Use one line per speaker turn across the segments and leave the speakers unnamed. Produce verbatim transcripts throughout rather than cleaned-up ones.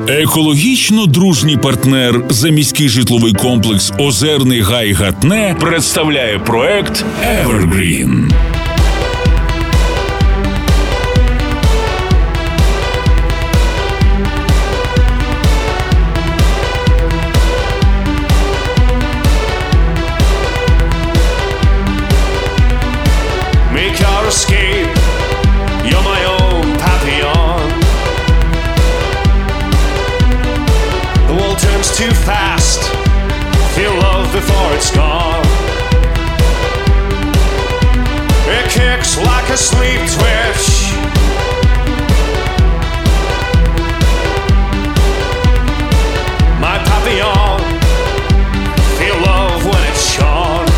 Екологічно дружній партнер заміський житловий комплекс «Озерний гай Гатне» представляє проект «Evergreen».
Escape, you're my own papillon. The world turns too fast, feel love before it's gone. It kicks like a sleep twitch. My papillon, feel love when it's shone.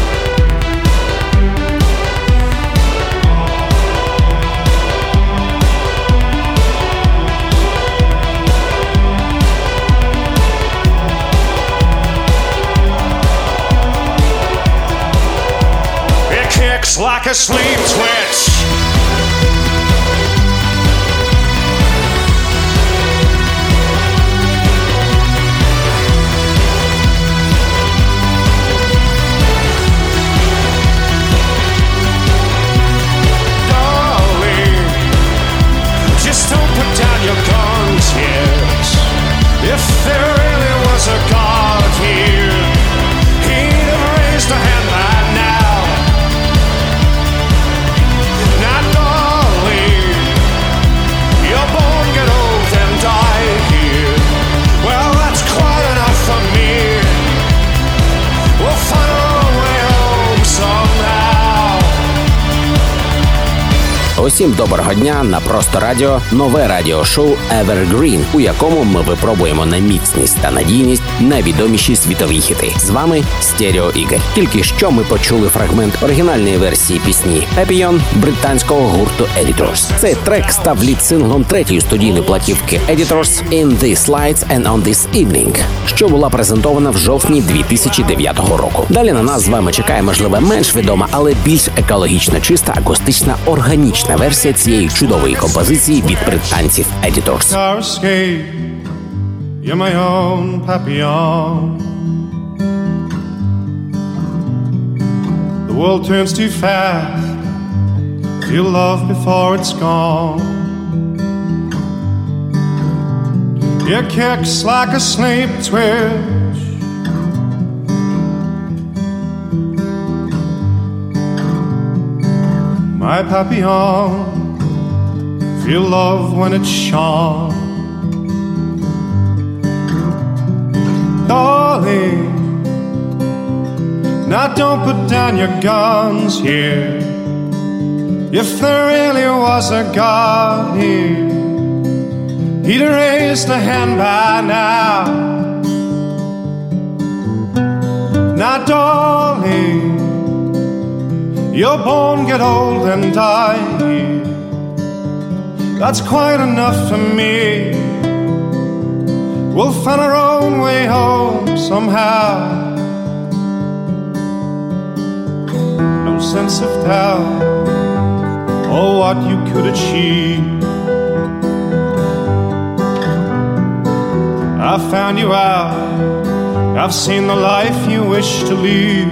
Like a sleep twitch. Darling, just don't put down your guns yet. If there really was a God here, he'd have raised a hand by now.
Усім доброго дня, на Просто Радіо нове радіошоу Evergreen, у якому ми випробуємо на міцність та надійність найвідоміші світові хіти. З вами Стерео Ігор. Тільки що ми почули фрагмент оригінальної версії пісні Papillon британського гурту Editors. Цей трек став лід-синглом третьої студійної платівки Editors «In These Lights and on This Evening», що була презентована в жовтні дві тисячі дев'ятого року. Далі на нас з вами чекає, можливо, менш відома, але більш екологічно чиста, акустична, органічна версія цієї чудової композиції від британців Editors.
You're my own papillon. The world turns too fast, feel love before it's gone. It kicks like a sleep twitch. My papillon, feel love when it's shone. Darling, now don't put down your guns here. If there really was a God here, he'd have raised a hand by now. Now darling, your bone get old and die here. That's quite enough for me. We'll find our own way home somehow. No sense of doubt, oh what you could achieve. I've found you out, I've seen the life you wish to lead.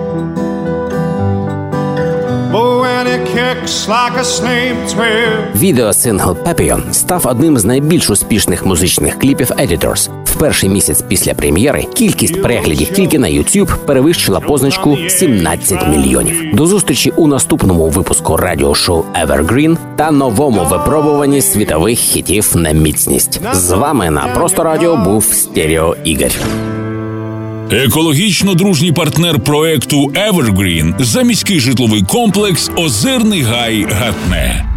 Відеосингл Papillon став одним з найбільш успішних музичних кліпів Editors. В перший місяць після прем'єри кількість переглядів тільки на YouTube перевищила позначку сімнадцять мільйонів. До зустрічі у наступному випуску радіошоу Evergreen та новому випробуванні світових хітів на міцність. З вами на Просто Радіо був Стерео Ігор.
Екологічно дружній партнер проекту Evergreen заміський житловий комплекс «Озерний гай Гатне».